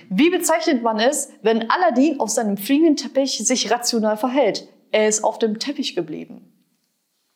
Wie bezeichnet man es, wenn Aladdin auf seinem fliegenden Teppich sich rational verhält? Er ist auf dem Teppich geblieben.